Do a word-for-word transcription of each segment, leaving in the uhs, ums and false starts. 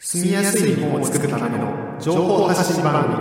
住みやすい日本を作るための情報発信番組。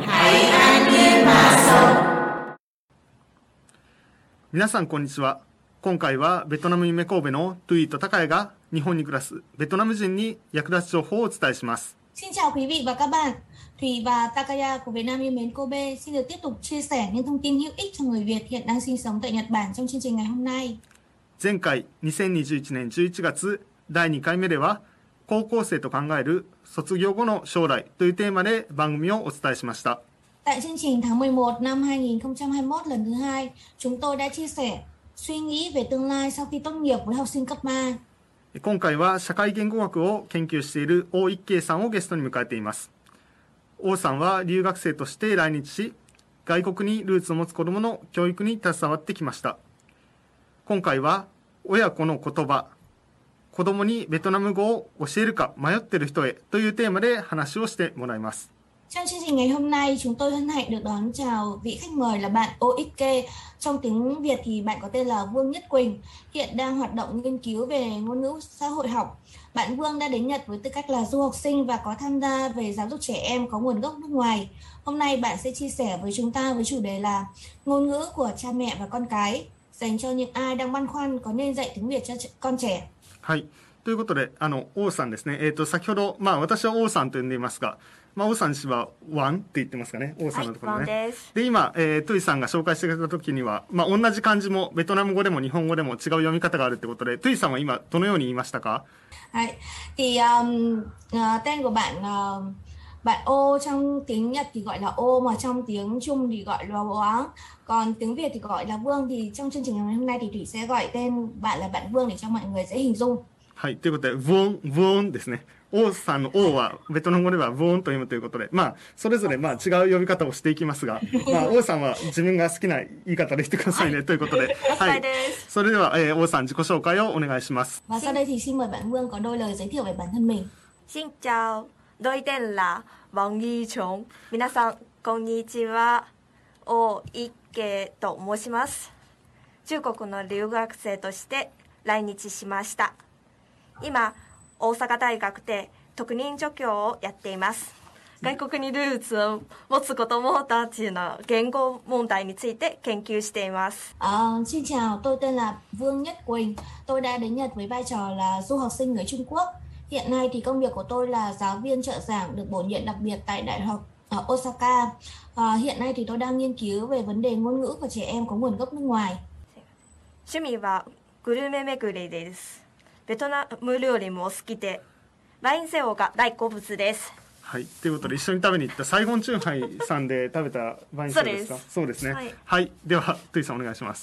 皆さんこんにちは。今回はベトナム夢神戸のトゥイと高谷が日本に暮らすベトナム人に役立つ情報をお伝えします。 Xin chào quý vị và các bạn. Thùy và Takaya của Việt Nam yêu mến Kobe xin được tiếp tục chia sẻ những thông tin hữu ích cho người Việt hiện đang sinh sống tại Nhật Bản trong chương trình ngày hôm nay. 前回にせんにじゅういちねんじゅういちがつだいにかいめでは高校生と考える卒業後の将来というテーマで番組をお伝えしました。 Tại chương trình tháng mười một năm hai nghìn không trăm hai mươi mốt lần thứ hai, chúng tôi đã chia sẻ suy nghĩ về tương lai sau khi tốt nghiệp với học sinh cấp ba. 今回は社会言語学を研究している王一慶さんをゲストに迎えています。王さんは留学生として来日し、外国にルーツを持つ子どもの教育に携わってきました。今回は親子の言葉、子どもにベトナム語を教えるか迷っている人へというテーマで話をしてもらいます。 Trong chương trình ngày hôm nay, chúng tôi hân hạnh được đón chào vị khách mời là bạn ô ích kê. Trong tiếng Việt thì bạn có tên là Vương Nhất Quỳnh, hiện đang hoạt động nghiên cứu về ngôn ngữ xã hội học. Bạn Vương đã đến Nhật với tư cách là du học sinh và có tham gia về giáo dục trẻ em có nguồn gốc nước ngoài. Hôm nay bạn sẽ chia sẻ với chúng ta với chủ đề là ngôn ngữ của cha mẹ và con cái, dành cho những ai đang băn khoăn có nên dạy tiếng Việt cho con trẻ. はい、ということで、あの王さんですね。えっと先ほど、まあ私は王さんと呼んでいますが。 まあ、王さん氏はワンって言ってますかね、王さんのところね。はい、で今、えー、トゥイさんが紹介してくれた時には、まあ、同じ漢字もベトナム語でも日本語でも違う読み方があるってことで、トゥイさんは今どのように言いましたか？ はい、thì um, uh, tên của bạn uh, bạn ô trong tiếng Nhật thì gọi là ô, mà trong tiếng Trung thì gọi là Oáng, còn tiếng Việt thì gọi là Vương. Thì trong chương trình ngày hôm nay thì Thủy sẽ gọi tên bạn là bạn Vương để cho mọi người dễ hình dung. はい、ということで、ブオン、ブオンですね。王さんの王はベトナム語ではブオンと読むということで、まあ、それぞれまあ違う呼び方をしていきますが、まあ、王さんは自分が好きな言い方で言ってくださいね、はい、ということで。はい。それでは、えー、王さん自己紹介をお願いします。 Và sau đây thì xin mời bạn Vương có đôi lời giới thiệu về bản thân mình. Xin chào, tôi tên là Vong Yi Chung. 皆さん、こんにちは。王一慶と申します。中国の留学生として来日しました。 今、大阪大学で特任助教をやっています。外国にルーツを持つ子どもたちの言語問題について研究しています。 Uh, xin chào, tôi tên là Vương Nhất Quỳnh. Tôi đã đến Nhật với vai trò là du học sinh người Trung Quốc. Hiện nay thì công việc của tôi là giáo viên trợ giảng được bổ nhiệm đặc biệt tại Đại học ở Osaka. Uh, hiện nay thì tôi đang nghiên cứu về vấn đề ngôn ngữ của trẻ em có nguồn gốc nước ngoài. 趣味はグルメ巡りです。 ベトナム料理も好きで、ワインセオが大好物です。 はい、ということで一緒に食べに行ったサイゴンチューハイさんで食べたワインセオですか？そうですね。はい、はい、ではトゥイさんお願いします。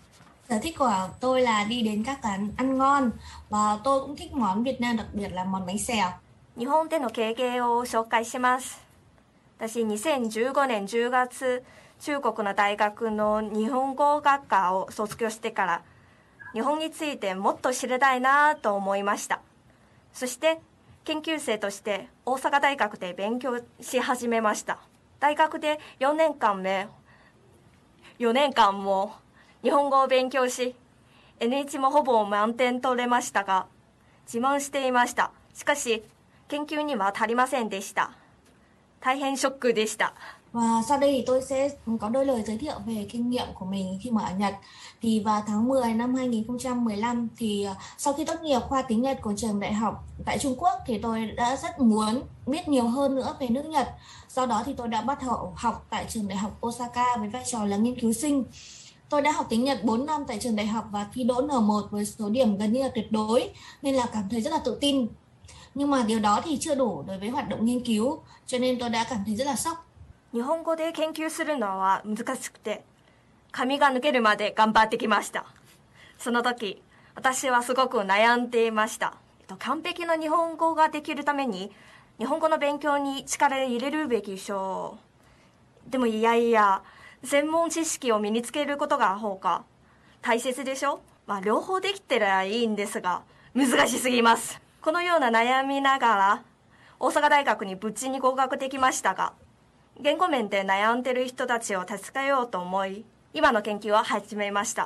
Sở thích của tôi là đi đến các quán ăn ngon và tôi cũng thích món Việt Nam, đặc biệt là món bánh xèo. 日本での経験を紹介します。私にせんじゅうごねんじゅうがつ、中国の大学の日本語学科を卒業してから 日本についてもっと知りたいなと思いました。そして研究生として大阪大学で勉強し始めました。大学でよねんかんめよねんかんも日本語を勉強し エヌワン もほぼ満点取れましたが自慢していました。しかし研究には足りませんでした。大変ショックでした。 Và sau đây thì tôi sẽ có đôi lời giới thiệu về kinh nghiệm của mình khi mà ở Nhật. Thì vào tháng mười năm hai nghìn không trăm mười lăm thì sau khi tốt nghiệp khoa tiếng Nhật của trường đại học tại Trung Quốc thì tôi đã rất muốn biết nhiều hơn nữa về nước Nhật. Do đó thì tôi đã bắt đầu học tại trường đại học Osaka với vai trò là nghiên cứu sinh. Tôi đã học tiếng Nhật bốn năm tại trường đại học và thi đỗ N một với số điểm gần như là tuyệt đối, nên là cảm thấy rất là tự tin. Nhưng mà điều đó thì chưa đủ đối với hoạt động nghiên cứu, cho nên tôi đã cảm thấy rất là sốc. 日本語で研究するのは難しくて、髪が抜けるまで頑張ってきました。その時、私はすごく悩んでいました。完璧な日本語ができるために、日本語の勉強に力を入れるべきでしょう。でもいやいや、専門知識を身につけることが方が大切でしょ。まあ両方できてらいいんですが、難しすぎます。このような悩みながら、大阪大学に無事に合格できましたが、 言語面で悩んでいる人たちを助けようと思い、今の研究を始めました。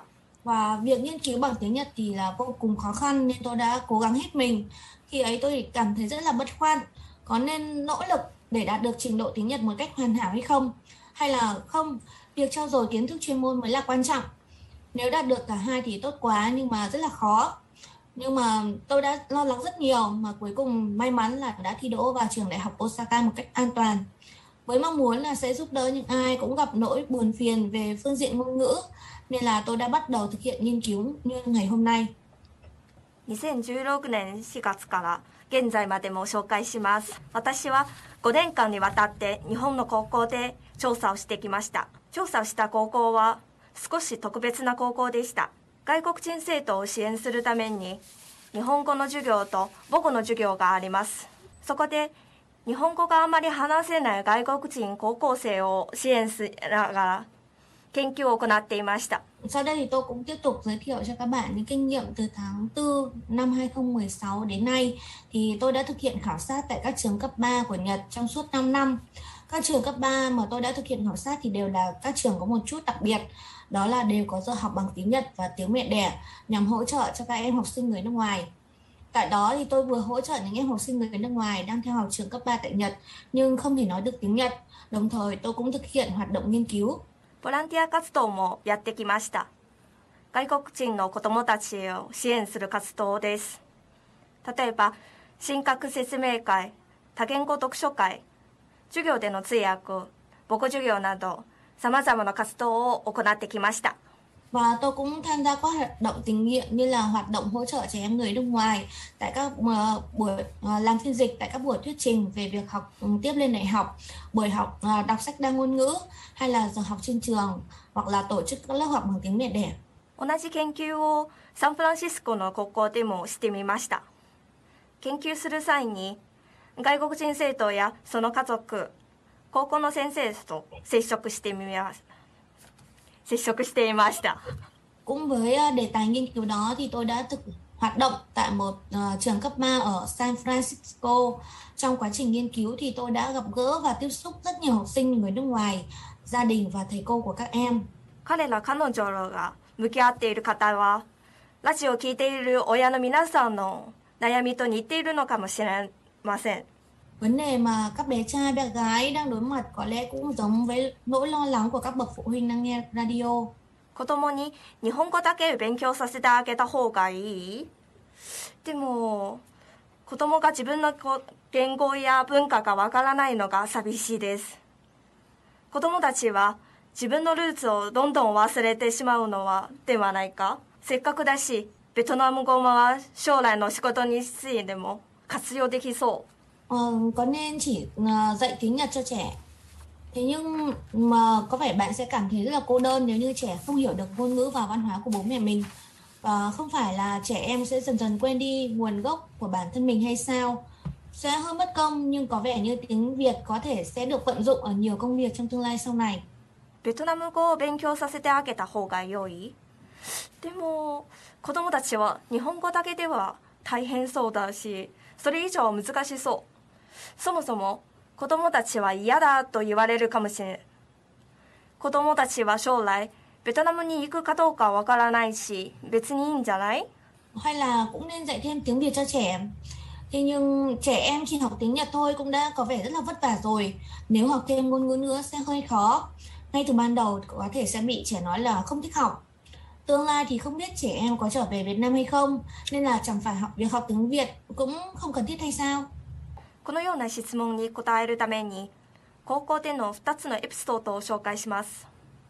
Và việc nghiên cứu bằng tiếng Nhật thì là vô cùng khó khăn nên tôi đã cố gắng hết mình. Khi ấy tôi cảm thấy rất là băn khoăn, có nên nỗ lực để đạt được trình độ tiếng Nhật một cách hoàn hảo hay không? Hay là không, việc trau dồi kiến thức chuyên môn mới là quan trọng. Nếu đạt được cả hai thì tốt quá nhưng mà rất là khó. Nhưng mà tôi đã lo lắng rất nhiều mà cuối cùng may mắn là đã thi đỗ vào trường đại học Osaka một cách an toàn. Với mong muốn là sẽ giúp đỡ những ai cũng gặp nỗi buồn phiền về phương diện ngôn ngữ, nên là tôi đã bắt đầu thực hiện nghiên cứu như ngày hôm nay. にせんじゅうろくねんしがつから現在までも紹介します。私はごねんかんにわたって日本の高校で調査をしてきました。調査をした高校は少し特別な高校でした。外国人生徒を支援するために日本語の授業と母語の授業があります。そこで日本語があまり話せない外国人高校生を支援しながら研究を行っていました。 Sau đây thì tôi cũng tiếp tục giới thiệu cho các bạn những kinh nghiệm từ tháng tư năm hai không một sáu đến nay. Thì tôi đã thực hiện khảo sát tại các trường cấp ba của Nhật trong suốt năm năm. Các trường cấp ba mà tôi đã thực hiện khảo sát thì đều là các trường có một chút đặc biệt. Đó là đều có giờ học bằng tiếng Nhật và tiếng mẹ đẻ nhằm hỗ trợ cho các em học sinh người nước ngoài. Tại đó thì tôi vừa hỗ trợ những em học sinh người nước ngoài đang theo học trường cấp ba tại Nhật nhưng không thể nói được tiếng Nhật. Đồng thời tôi cũng thực hiện hoạt động nghiên cứu. ボランティア活動もやってきました。外国人の子どもたちを支援する活動です。例えば、神格説明会、多言語読書会、授業での通訳、母語授業など、さまざまな活動を行ってきました。 Và tôi cũng tham gia các hoạt động tình nguyện như là hoạt động hỗ trợ trẻ em người nước ngoài tại các uh, buổi uh, làm phiên dịch tại các buổi thuyết trình về việc học um, tiếp lên đại học, buổi học uh, đọc sách đa ngôn ngữ hay là giờ học trên trường hoặc là tổ chức các lớp học bằng tiếng mẹ đẻ. 同じ研究をサンフランシスコの高校でもしてみました。研究する際に外国人生徒やその家族、高校の先生と接触してみます。接触していました。 Cũng với đề tài nghiên cứu đó thì tôi đã thực hoạt động tại một uh, trường cấp ba ở San Francisco. Trong quá trình nghiên cứu thì tôi đã gặp gỡ và tiếp xúc rất nhiều học sinh người nước ngoài, gia đình và thầy cô của các em. 彼ら彼女らが向き合っている方はラジオを聞いている親の皆さんの悩みと似ているのかもしれません。 Vấn đề mà các bé trai bé gái đang đối mặt có lẽ cũng giống với nỗi lo lắng của các bậc phụ huynh đang nghe radio. 子供に日本語だけ勉強させてあげた方がいい。でも子供が自分の言語や文化がわからないのが寂しいです。子供たちは自分のルーツをどんどん忘れてしまうのはではないか。せっかくだしベトナム語は将来の仕事についても活用できそう。 Ờ, có nên chỉ uh, dạy tiếng Nhật cho trẻ. Thế nhưng mà có vẻ bạn sẽ cảm thấy rất là cô đơn nếu như trẻ không hiểu được ngôn ngữ và văn hóa của bố mẹ mình. Và không phải là trẻ em sẽ dần dần quên đi nguồn gốc của bản thân mình hay sao? Sẽ hơi mất công nhưng có vẻ như tiếng Việt có thể sẽ được vận dụng ở nhiều công việc trong tương lai sau này. ベトナム語を勉強させてあげた方が良い。でも子供たちは日本語だけでは大変そうだし、それ以上は難しそう。そもそも子供たちは嫌だと言われるかもしれない。子供たちは将来ベトナムに行くかどうかわからないし、別にいいんじゃない？ Hay là cũng nên dạy thêm tiếng Việt cho trẻ. Thế nhưng trẻ em chỉ học tiếng Nhật thôi cũng đã có vẻ rất là vất vả rồi. Nếu học thêm ngôn ngữ nữa sẽ hơi khó. Ngay từ ban đầu có thể sẽ bị trẻ nói là không thích học. Tương lai thì không biết trẻ em có trở về Việt Nam hay không, nên là chẳng phải học việc học tiếng Việt cũng không cần thiết hay sao? このような質問に答えるために高校でのふたつのエピソードを紹介します。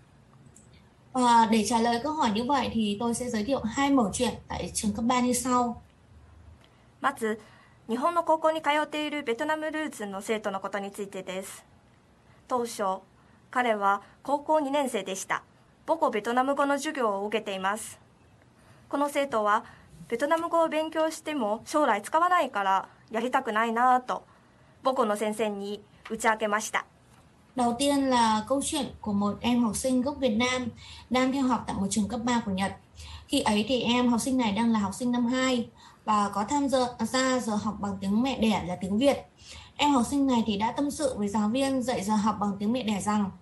Và để trả lời câu hỏi như vậy thì tôi sẽ giới thiệu hai mẩu chuyện tại trường cấp ba như sau. まず日本の高校に通っているベトナムルーツの生徒のことについてです。当初彼は高校にねん生でした。母語ベトナム語の授業を受けています。この生徒はベトナム語を勉強しても将来使わないからやりたくないなと母語の先生に打ち明けました。 Đầu tiên là câu chuyện của một em học sinh gốc Việt Nam đang theo học tại một trường cấp ba của Nhật. Khi ấy thì em học sinh này đang là học sinh năm hai và có tham gia ra giờ học bằng tiếng mẹ đẻ là tiếng Việt. Em học sinh này thì đã tâm sự với giáo viên dạy giờ học bằng tiếng mẹ đẻ rằng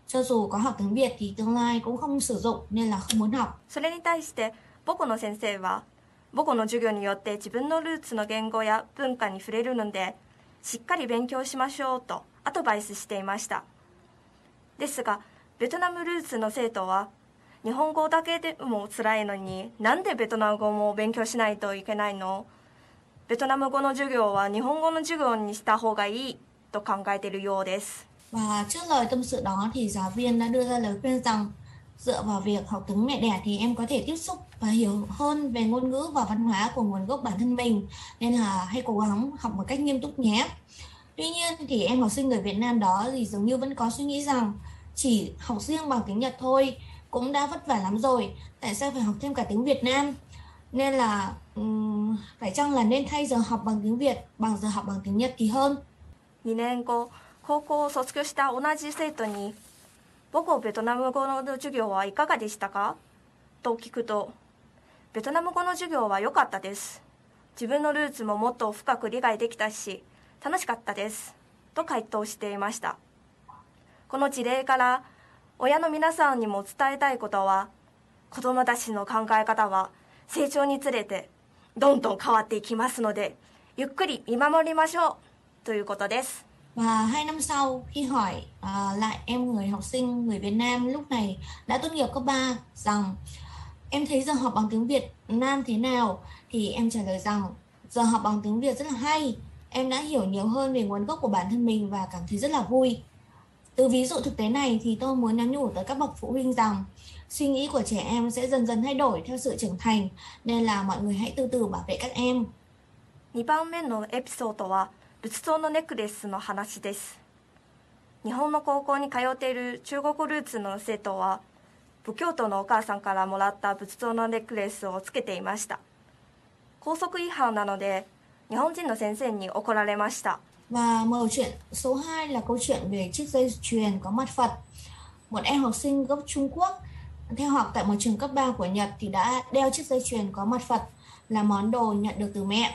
cho dù có học tiếng Việt thì tương lai cũng không sử dụng nên là không muốn học. それに対して母校の先生は母校の授業によって自分のルーツの言語や文化に触れるのでしっかり勉強しましょうとアドバイスしていました。ですがベトナムルーツの生徒は日本語だけでも辛いのになんでベトナム語も勉強しないといけないの？ベトナム語の授業は日本語の授業にした方がいいと考えているようです。 Và trước lời tâm sự đó thì giáo viên đã đưa ra lời khuyên rằng dựa vào việc học tiếng mẹ đẻ thì em có thể tiếp xúc và hiểu hơn về ngôn ngữ và văn hóa của nguồn gốc bản thân mình, nên là hãy cố gắng học một cách nghiêm túc nhé. Tuy nhiên thì em học sinh người Việt Nam đó thì dường như vẫn có suy nghĩ rằng chỉ học riêng bằng tiếng Nhật thôi cũng đã vất vả lắm rồi, tại sao phải học thêm cả tiếng Việt Nam? Nên là um, phải chăng là nên thay giờ học bằng tiếng Việt bằng giờ học bằng tiếng Nhật thì hơn. にねんご高校を卒業した同じ生徒に母校ベトナム語の授業はいかがでしたかと聞くと、ベトナム語の授業は良かったです。自分のルーツももっと深く理解できたし楽しかったですと回答していました。この事例から親の皆さんにも伝えたいことは、子どもたちの考え方は成長につれてどんどん変わっていきますので、ゆっくり見守りましょうということです。 Và hai năm sau khi hỏi uh, lại em người học sinh người Việt Nam lúc này đã tốt nghiệp cấp ba rằng em thấy giờ học bằng tiếng Việt Nam thế nào, thì em trả lời rằng giờ học bằng tiếng Việt rất là hay, em đã hiểu nhiều hơn về nguồn gốc của bản thân mình và cảm thấy rất là vui. Từ ví dụ thực tế này thì tôi muốn nhắn nhủ tới các bậc phụ huynh rằng suy nghĩ của trẻ em sẽ dần dần thay đổi theo sự trưởng thành, nên là mọi người hãy từ từ bảo vệ các em. にばんめのエピソードは仏像のネックレスの話です。日本の高校に通っている中国ルーツの生徒は仏教徒のお母さんからもらった仏像のネックレスをつけていました。校則違反なので日本人の先生に怒られました。 Và màu chuyện số hai là câu chuyện về chiếc dây chuyền có mặt Phật. Một em học sinh gốc Trung Quốc theo học tại một trường cấp ba của Nhật thì đã đeo chiếc dây chuyền có mặt Phật là món đồ nhận được từ mẹ.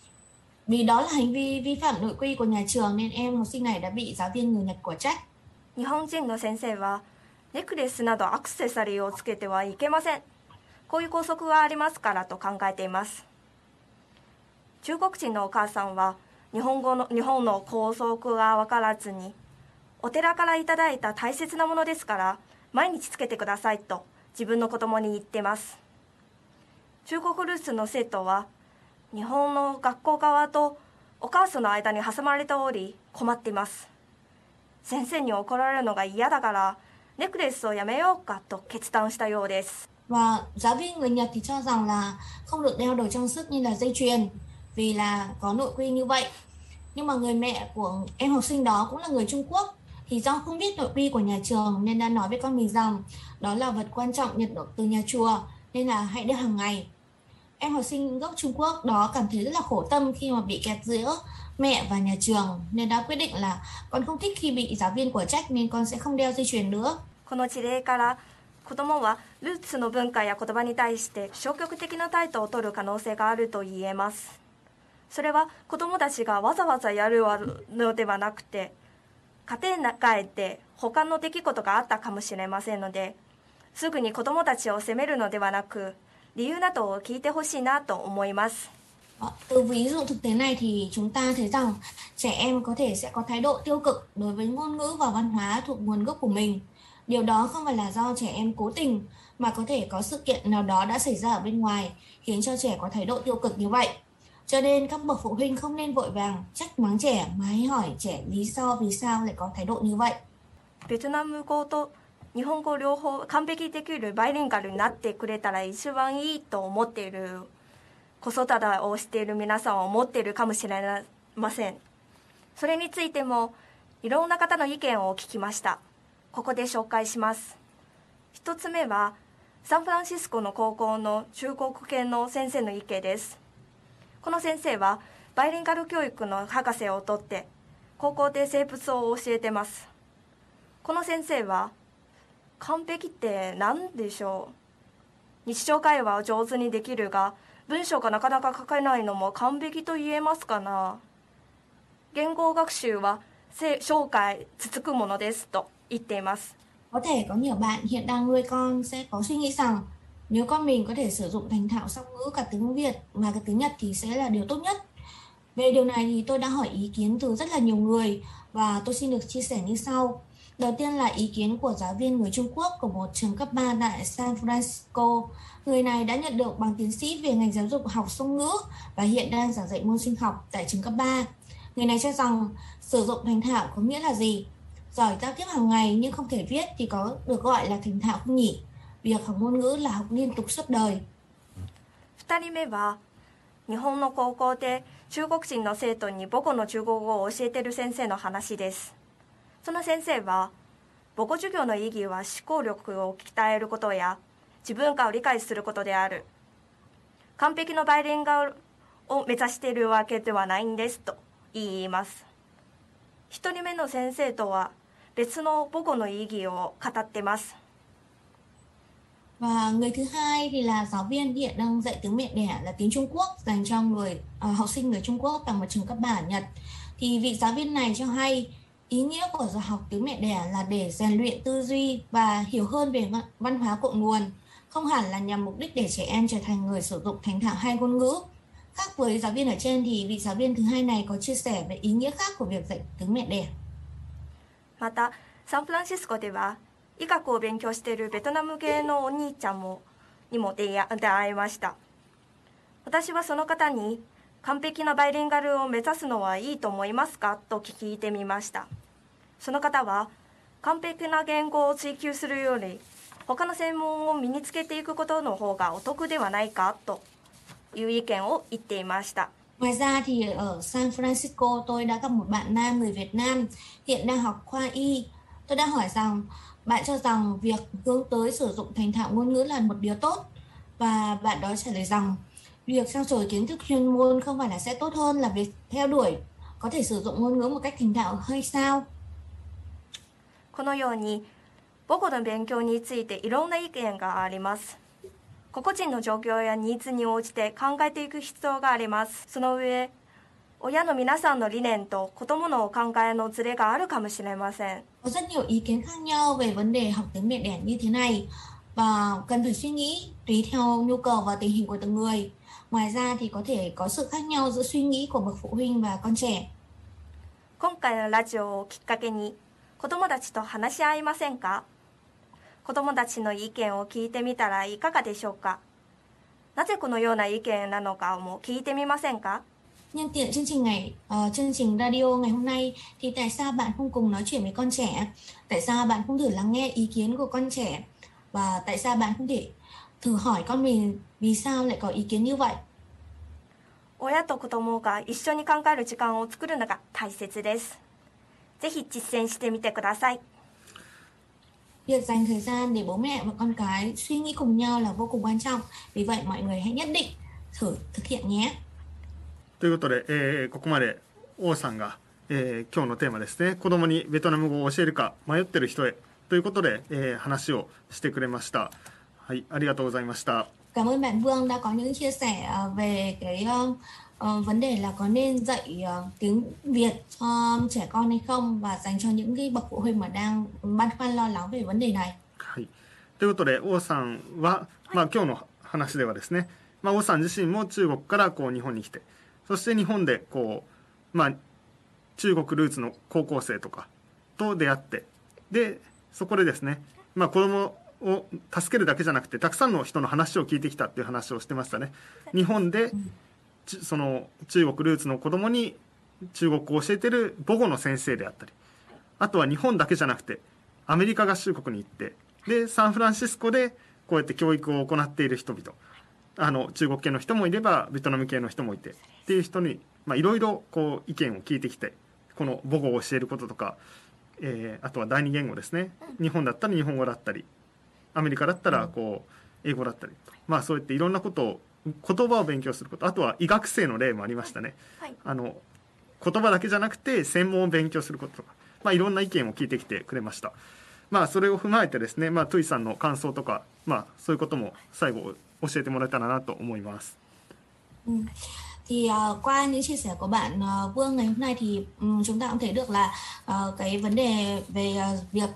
Vì đó là hành vi vi phạm nội quy của nhà trường nên em học sinh này đã bị giáo viên người Nhật của trách. 日本人の先生はネックレスなどアクセサリーをつけてはいけません。こういう校則がありますからと考えています。中国人のお母さんは日本語の日本の校則が分からずに、お寺からいただいた大切なものですから毎日つけてくださいと自分の子供に言ってます。中国ルーツの生徒は日本の学校側とお母さんの間に挟まれており困っています。先生に怒られるのが嫌だからネックレスをやめようかと決断したようです。 Và giáo viên người Nhật thì cho rằng là không được đeo đồ trang sức như là dây chuyền vì là có nội quy như vậy. Nhưng mà người mẹ của em học sinh đó cũng là người Trung Quốc, thì do không biết nội quy của nhà trường nên đã nói với con mình rằng đó là vật quan trọng nhận được từ nhà chùa nên là hãy đeo hàng ngày. Em học sinh gốc Trung Quốc đó cảm thấy rất là khổ tâm khi mà bị kẹt giữa mẹ và nhà trường nên đã quyết định là con không thích khi bị giáo viên của trách nên con sẽ không đeo dây chuyền nữa. この事例から子どもはルーツの文化や言葉に対して消極的な態度を取る可能性があると言えます。それは子どもたちがわざわざやるのではなくて、家庭の中で他の出来事があったかもしれませんので、すぐに子どもたちを責めるのではなく理由などを聞いてほしいなと思います。 Từ ví dụ thực tế này thì chúng ta thấy rằng trẻ em có thể sẽ có thái độ tiêu cực đối với ngôn ngữ và văn hóa thuộc nguồn gốc của mình. Điều đó không phải là do trẻ em cố tình mà có thể có sự kiện nào đó đã xảy ra ở bên ngoài khiến cho trẻ có thái độ tiêu cực như vậy. Cho nên các bậc phụ huynh không nên vội vàng trách mắng trẻ mà hãy hỏi trẻ lý do vì sao lại có thái độ như vậy. ベトナム語と日本語両方完璧できるバイリンガルになってくれたら一番いいと思っている子育てをしている皆さんは思っているかもしれません。それについてもいろんな方の意見を聞きました。ここで紹介します。一つ目はサンフランシスコの高校の中国系の先生の意見です。この先生はバイリンガル教育の博士を取って高校で生物を教えてます。この先生は完璧って何でしょう。日常会話を上手にできるが文章がなかなか書けないのも完璧と言えますかな。言語学習は生涯続くものですと言っています。 Có thể có nhiều bạn hiện đang nuôi con sẽ có suy nghĩ rằng nếu con mình có thể sử dụng thành thạo song ngữ cả tiếng Việt và cả tiếng Nhật thì sẽ là điều tốt nhất. Về điều này thì tôi đã hỏi ý kiến từ rất là nhiều người và tôi xin được chia sẻ như sau. Đầu tiên là ý kiến của giáo viên người Trung Quốc của một trường cấp ba tại San Francisco. Người này đã nhận được bằng tiến sĩ về ngành giáo dục học song ngữ và hiện đang giảng dạy môn sinh học tại trường cấp ba. Người này cho rằng sử dụng thành thạo có nghĩa là gì? Giỏi giao tiếp hàng ngày nhưng không thể viết thì có được gọi là thành thạo không nhỉ? Việc học ngôn ngữ là học liên tục suốt đời. ふたりめは日本の高校で中国人の生徒に母語の中国語を教えている先生の話です。その先生は母語授業の意義は思考力を鍛えることや自分化を理解することである。完璧のバイリンガルを目指しているわけではないんですと言います。一人目の先生とは別の母語の意義を語っています。 Và người thứ hai thì là giáo viên hiện đang dạy tiếng mẹ đẻ là tiếng Trung Quốc dành cho người uh, học sinh người Trung Quốc tại một trường cấp ba ở Nhật. Thì vị giáo viên này cho hay ý nghĩa của giờ học tiếng mẹ đẻ là để rèn luyện tư duy và hiểu hơn về văn hóa cội nguồn, không hẳn là nhằm mục đích để trẻ em trở thành người sử dụng thành thạo hai ngôn ngữ. Khác với giáo viên ở trên thì vị giáo viên thứ hai này có chia sẻ về ý nghĩa khác của việc dạy tiếng mẹ đẻ. またサンフランシスコでは医学を勉強しているベトナム系のお兄ちゃんもにも出会いました。私はその方に完璧なバイリンガルを目指すのはいいと思いますかと聞いてみました。その方は完璧な言語を追求するより他の専門を身につけていくことの方がお得ではないかという意見を言っていました。 Ngoài ra thì ở San Francisco tôi đã gặp một bạn nam người Việt Nam hiện đang học khoa y. Tôi đã hỏi rằng bạn cho rằng việc hướng tới sử dụng thành thạo ngôn ngữ là một điều tốt, và bạn đó trả lời rằng việc trau dồi kiến thức chuyên môn không phải là sẽ tốt hơn là việc theo đuổi có thể sử dụng ngôn ngữ một cách thành thạo hay sao? このように母語の勉強についていろんな意見があります。個々人の状況やニーズに応じて考えていく必要があります。その上、親の皆さんの理念と子どもの考えのズレがあるかもしれません。 Có rất nhiều ý kiến khác nhau về vấn đề học tiếng mẹ đẻ như thế này và cần phải suy nghĩ tùy theo nhu cầu và tình hình của từng người. Ngoài ra thì có thể có sự khác nhau giữa suy nghĩ của bậc phụ huynh và con trẻ. 今回のラジオをきっかけに子どもたちと話し合いませんか？子どもたちの意見を聞いてみたらいかがでしょうか？なぜこのような意見なのかも聞いてみませんか？ Nhân tiện chương trình ngày uh, chương trình radio ngày hôm nay thì tại sao bạn không cùng nói chuyện với con trẻ? Tại sao bạn không thử lắng nghe ý kiến của con trẻ? Và tại sao bạn không thể thử hỏi con mình vì sao lại có ý kiến như vậy? 親と子どもが一緒に考える時間を作るのが大切です。ぜひ実践してみてください。 Việc dành thời gian để bố mẹ và con cái suy nghĩ cùng nhau là vô cùng quan trọng. Vì vậy mọi người hãy nhất định thử thực hiện nhé. ということで、えー、ここまで王さんが、えー、今日のテーマですね、子供にベトナム語を教えるか迷ってる人へということで、えー、話をしてくれました。はい、ありがとうございました。 Cảm ơn bạn Vương đã có những chia sẻ về cái uh, uh, vấn đề là có nên dạy uh, tiếng Việt cho trẻ con hay không, và dành cho những cái bậc phụ huynh mà đang băn khoăn lo lắng về vấn đề này. はい、ということで王さんは、まあ、今日の話ではですね、まあ、王さん自身も中国からこう日本に来て、そして日本でこう、まあ、中国ルーツの高校生とかと出会って、でそこでですね、まあ、子供を助けるだけじゃなくてたくさんの人の話を聞いてきたっていう話をしてましたね。日本でその中国ルーツの子供に中国語を教えてる母語の先生であったり、あとは日本だけじゃなくてアメリカ合衆国に行って、でサンフランシスコでこうやって教育を行っている人々、あの中国系の人もいればベトナム系の人もいてっていう人にいろいろ意見を聞いてきて、この母語を教えることとか、えー、あとは第二言語ですね、日本だったら日本語だったりアメリカだったらこう英語だったり、まあそうやっていろんなことを言葉を勉強すること、あとは医学生の例もありましたね、はい、あの言葉だけじゃなくて専門を勉強することとか、まあ、いろんな意見を聞いてきてくれました。まあそれを踏まえてですね、まあ、トゥイさんの感想とか、まあ、そういうことも最後教えてもらえたらなと思います。 Ừ. Thì uh, qua những chia sẻ của bạn uh, Vương ngày hôm nay thì um, chúng ta cũng thấy được là uh, cái vấn đề về uh, việc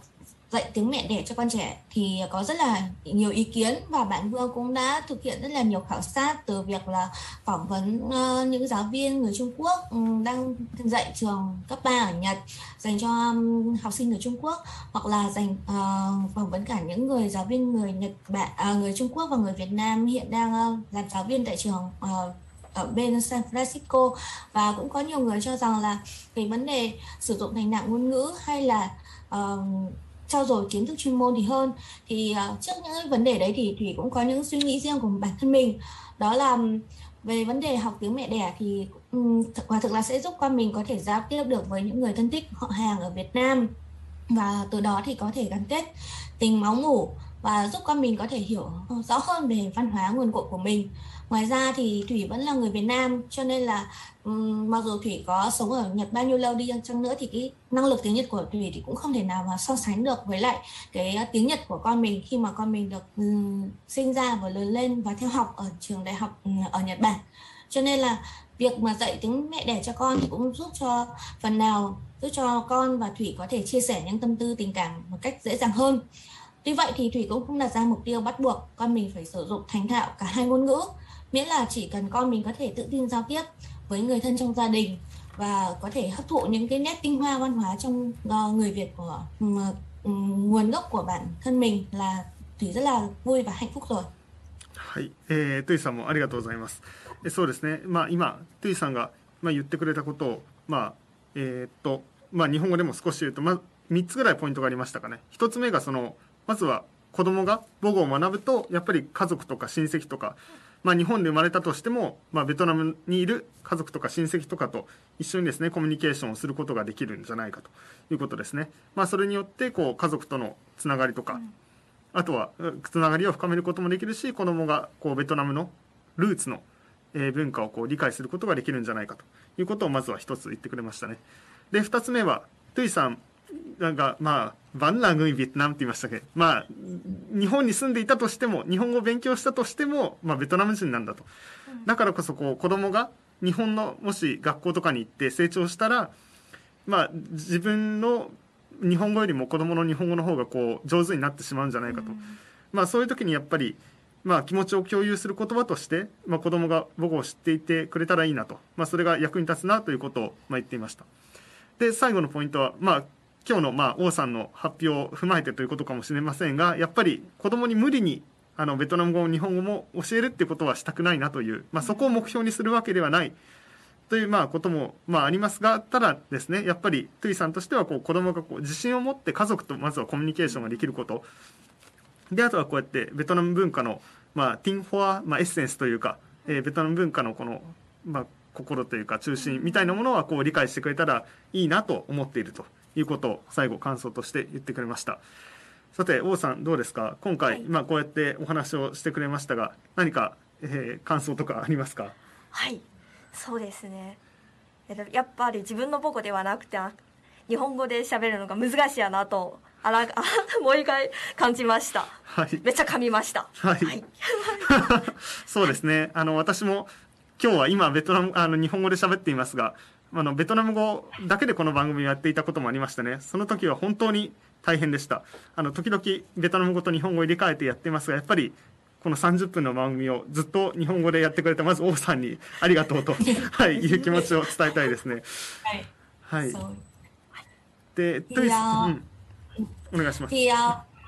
dạy tiếng mẹ đẻ cho con trẻ thì có rất là nhiều ý kiến, và bạn Vương cũng đã thực hiện rất là nhiều khảo sát, từ việc là phỏng vấn uh, những giáo viên người Trung Quốc um, đang dạy trường cấp ba ở Nhật dành cho um, học sinh người Trung Quốc, hoặc là dành uh, phỏng vấn cả những người giáo viên người Nhật Bản, uh, người Trung Quốc và người Việt Nam hiện đang uh, làm giáo viên tại trường uh, ở bên San Francisco. Và cũng có nhiều người cho rằng là về vấn đề sử dụng thành nặng ngôn ngữ hay là uh, trau dồi kiến thức chuyên môn thì hơn, thì uh, trước những vấn đề đấy thì Thủy cũng có những suy nghĩ riêng của bản thân mình. Đó là về vấn đề học tiếng mẹ đẻ thì um, quả thực là sẽ giúp con mình có thể giao tiếp được với những người thân thích họ hàng ở Việt Nam, và từ đó thì có thể gắn kết tình máu mủ và giúp con mình có thể hiểu rõ hơn về văn hóa nguồn cội của mình. Ngoài ra thì Thủy vẫn là người Việt Nam, cho nên là um, mặc dù Thủy có sống ở Nhật bao nhiêu lâu đi chăng nữa thì cái năng lực tiếng Nhật của Thủy thì cũng không thể nào mà so sánh được với lại cái tiếng Nhật của con mình khi mà con mình được um, sinh ra và lớn lên và theo học ở trường đại học um, ở Nhật Bản. Cho nên là việc mà dạy tiếng mẹ đẻ cho con thì cũng giúp cho phần nào giúp cho con và Thủy có thể chia sẻ những tâm tư tình cảm một cách dễ dàng hơn. Tuy vậy thì Thủy cũng không đặt ra mục tiêu bắt buộc con mình phải sử dụng thành thạo cả hai ngôn ngữ, miễn là chỉ cần con mình có thể tự tin giao tiếp với người thân trong gia đình và có thể hấp thụ những cái nét tinh hoa văn hóa trong uh, người Việt của um, um, nguồn gốc của bản thân mình là Thủy rất là vui và hạnh phúc rồi. はい、えー、トゥイさんもありがとうございます。えそうですね、まあ、今トゥイさんが、まあ、言ってくれたことを、まあえーっとまあ、日本語でも少し言うと、まあ、みっつぐらいポイントがありましたかね。ひとつめがそのまずは子供が母語を学ぶとやっぱり家族とか親戚とか、まあ、日本で生まれたとしても、まあ、ベトナムにいる家族とか親戚とかと一緒にですねコミュニケーションをすることができるんじゃないかということですね。まあ、それによってこう家族とのつながりとか、うん、あとはつながりを深めることもできるし、子供がこうベトナムのルーツの文化をこう理解することができるんじゃないかということをまずは一つ言ってくれましたね。でふたつめはトゥイさんなんかまあバンラングイビエトナムって言いましたけど、まあ日本に住んでいたとしても日本語を勉強したとしても、まあ、ベトナム人なんだと。だからこそこう子供が日本のもし学校とかに行って成長したら、まあ自分の日本語よりも子供の日本語の方がこう上手になってしまうんじゃないかと。まあそういう時にやっぱりまあ気持ちを共有する言葉として、まあ、子供が母語を知っていてくれたらいいなと、まあ、それが役に立つなということをまあ言っていました。で最後のポイントはまあ今日のまあ王さんの発表を踏まえてということかもしれませんが、やっぱり子供に無理にあのベトナム語も日本語も教えるっていうことはしたくないなという、まあ、そこを目標にするわけではないというまあこともまあありますが、ただですねやっぱりトゥイさんとしてはこう子供がこう自信を持って家族とまずはコミュニケーションができることで、あとはこうやってベトナム文化のまあティンフォア、まあ、エッセンスというか、えー、ベトナム文化のこのまあ心というか中心みたいなものはこう理解してくれたらいいなと思っているということを最後感想として言ってくれました。さて王さんどうですか、今回、はい、まあ、こうやってお話をしてくれましたが何か、えー、感想とかありますか？ はい、そうですね、やっぱり自分の母語ではなくて日本語で喋るのが難しいやなとあらもう一回感じました、はい、めっちゃ噛みました、はいはい、 そうですね、あの私も今日は今ベトナムあの日本語で喋っていますが、あのベトナム語だけでこの番組をやっていたこともありましたね。その時は本当に大変でした。あの時々ベトナム語と日本語を入れ替えてやってますが、やっぱりこのさんじゅっぷんの番組をずっと日本語でやってくれたまず王さんにありがとうと、はい、いう気持ちを伝えたいですね。はい。で、トゥイさん、お願いします。 thì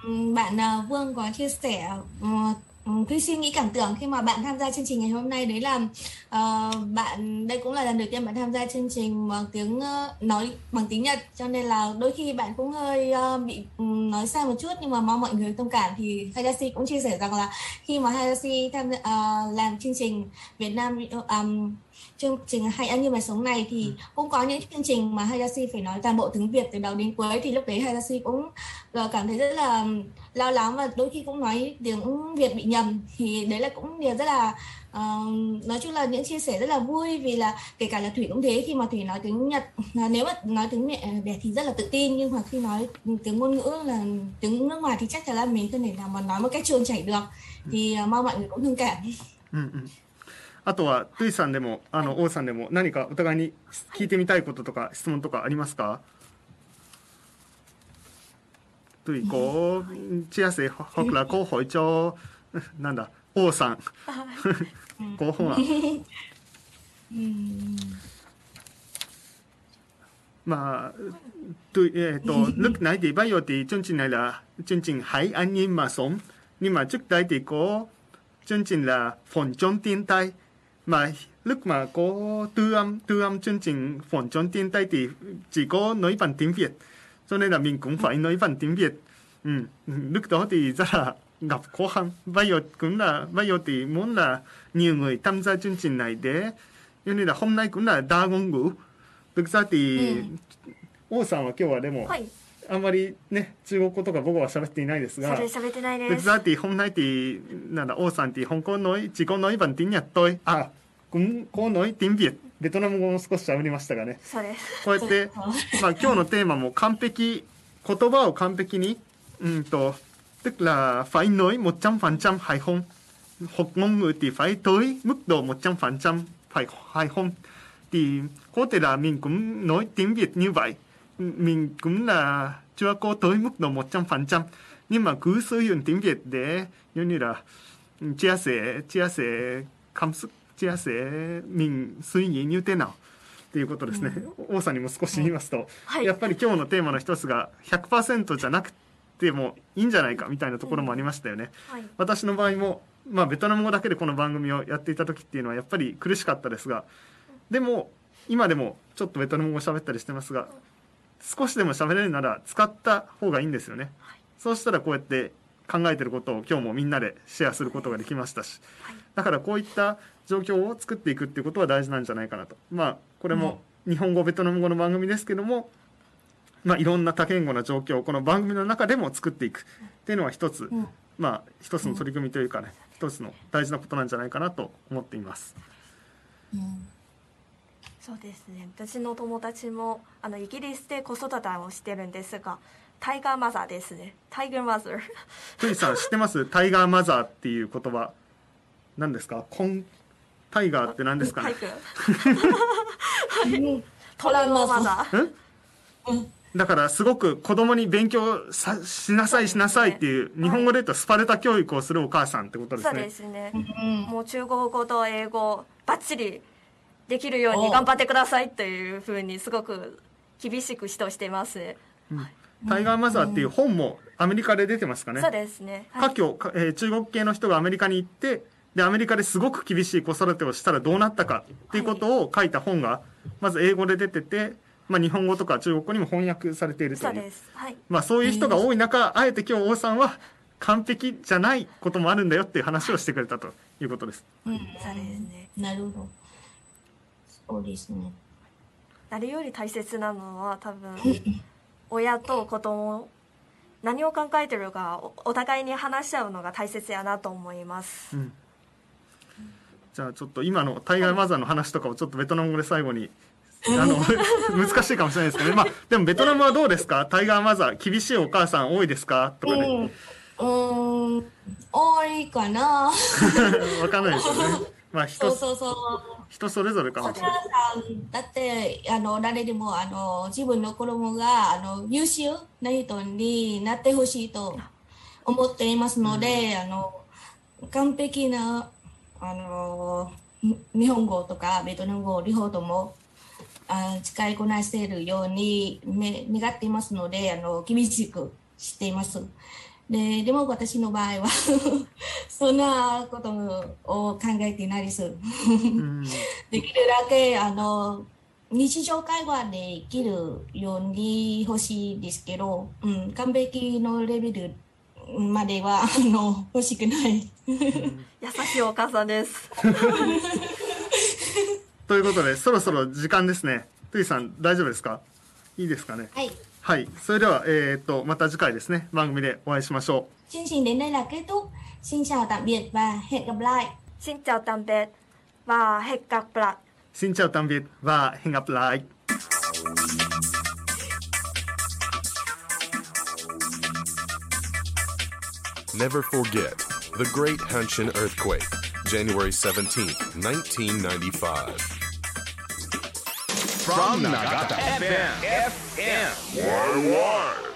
bạn Vương có chia sẻ Thúy suy nghĩ cảm tưởng khi mà bạn tham gia chương trình ngày hôm nay, đấy là uh, bạn đây cũng là lần đầu tiên bạn tham gia chương trình bằng tiếng uh, nói bằng tiếng Nhật, cho nên là đôi khi bạn cũng hơi uh, bị um, nói sai một chút, nhưng mà mong mọi người thông cảm. Thì Hayashi cũng chia sẻ rằng là khi mà Hayashi tham uh, làm chương trình Việt Nam um, chương trình Hay Ăn Như Mà Sống này thì cũng có những chương trình mà Hayashi phải nói toàn bộ tiếng Việt từ đầu đến cuối, thì lúc đấy Hayashi cũng cảm thấy rất là lo lắng và đôi khi cũng nói tiếng Việt bị nhầm. Thì đấy là cũng điều rất là uh, nói chung là những chia sẻ rất là vui, vì là kể cả là Thủy cũng thế, khi mà Thủy nói tiếng Nhật, nếu mà nói tiếng mẹ đẻ thì rất là tự tin, nhưng mà khi nói tiếng ngôn ngữ là tiếng nước ngoài thì chắc chắn là mình không thể nào mà nói một cách trôi chảy được. Thì uh, mong mọi người cũng thông cảm. うんうんあとはトゥイさんでもあの王さんでも何かお互いに聞いてみたいこととか質問とかありますか？ト對嗰即係學啦，嗰海咗なんだ王さん嗰方啊。mà tôi tôi lúc nãy thì bây giờ thì chương trình này là chương trình Hãy an nhiên mà sống, nhưng mà trước đây thì có chương trình là phòng chống thiên tai, mà lúc mà có tư âm tư âm chương trình phòng chống thiên tai thì chỉ có nói bằng tiếng Việt, cho nên là mình cũng phải nói bằng tiếng Việt. Ừ. Lúc đó thì rất là gặp khó khăn. Bây giờ cũng là bây giờ thì muốn là nhiều người tham gia chương trình này để cho nên là hôm nay cũng là đa ngôn ngữ. thực際に、王さんは今日はでも、はい、あんまりね中国語とか僕は喋っていないですが， 喋ってないです。 thực ra thì hôm nay thì là Ô San thì không có nói chỉ có nói bằng tiếng Nhật thôi. À cũng có nói tiếng Việt、ベトナム語も少し喋りましたがね。 そうです。 こうやってまあ今日のテーマも完璧言葉を完璧にうんとtức là phải nói một trăm phần trăm hài không. Học ngôn ngữ thì phải tới mức độ một trăm phần trăm phải hài không. Thì có thể là mình cũng nói tiếng Việt như vậy, mình cũng là chưa có tới mức độ một trăm phần trăm, nhưng mà cứ sử dụng tiếng Việt để như như là chia sẻ chia sẻ cảm xúc, chia sẻ mình suy nghĩ như thế nàoということですね。王さんにも少し言いますと、はい、やっぱり今日のテーマの一つが ひゃくパーセント じゃなくてもいいんじゃないかみたいなところもありましたよね。うんはい、私の場合も、まあ、ベトナム語だけでこの番組をやっていた時っていうのはやっぱり苦しかったですが、でも今でもちょっとベトナム語喋ったりしてますが、少しでも喋れるなら使った方がいいんですよね。はい、そうしたらこうやって考えてることを今日もみんなでシェアすることができましたし、はい、だからこういった状況を作っていくっていうことは大事なんじゃないかなと。まあこれも日本語ベトナム語の番組ですけども、まあいろんな多言語な状況をこの番組の中でも作っていくっていうのは一つ、まあ一つの取り組みというかね、一つの大事なことなんじゃないかなと思っています。 うんそうですね、私の友達もあのイギリスで子育てをしてるんですが、タイガーマザーですね。タイガーマザー。 トゥイさん知ってます？タイガーマザーっていう言葉何ですか？コンタイガーって何ですかね？ トラウママザー。だからすごく子供に勉強さしなさいしなさいっていう、日本語で言うとスパルタ教育をするお母さんってことですね。 そうですね。もう中国語と英語バッチリできるように頑張ってくださいというふうにすごく厳しく指導しています、 うん、タイガーマザーっていう本もアメリカで出てますかね。 そうですね、 はい、華僑、えー、中国系の人がアメリカに行ってでアメリカですごく厳しい子育てをしたらどうなったかっていうことを書いた本がまず英語で出てて、まあ、日本語とか中国語にも翻訳されているという。 そうです、はい、 まあ、そういう人が多い中、あえて今日王さんは完璧じゃないこともあるんだよっていう話をしてくれたということです、 うん、そうですね。 なるほど。そうですね。 誰より大切なのは多分親と子供何を考えてるか お, お互いに話し合うのが大切やなと思います、うん、 じゃあちょっと今のタイガーマザーの話とかをちょっとベトナム語で最後にあの難しいかもしれないですけどね、まあ、でもベトナムはどうですか？タイガーマザー厳しいお母さん多いですかとかね。 うん、うん多いかなわかんないですよね。まあ人そうそうそう人それぞれかもしれない。 だってあの誰でもあの自分の子供があの優秀な人になってほしいと思っていますので、うん、あの完璧なあの日本語とかベトナム語両方ともあ使いこなせるように、ね、願っていますのであの厳しくしています。で, でも私の場合はそんなことを考えていないです、うん、できるだけあの日常会話できるように欲しいですけど、うん、完璧のレベルまではあの欲しくない、うん、優しいお母さんですということでそろそろ時間ですね。トゥイさん大丈夫ですか？いいですかね。 はいはい、それでは、えー、とまた次回ですね番組でお会いしましょう。 chương trình đến đây là kết thúc. Xin chào tạm biệt và hẹn gặp lại. Xin chào tạm biệt và hẹn gặp lại. Xin chào tạm biệt và hẹn gặp lại. Never forget the Great Hanshin Earthquake, January seventeenth, nineteen ninety-five.From Nagata エフエム エフエム Worldwide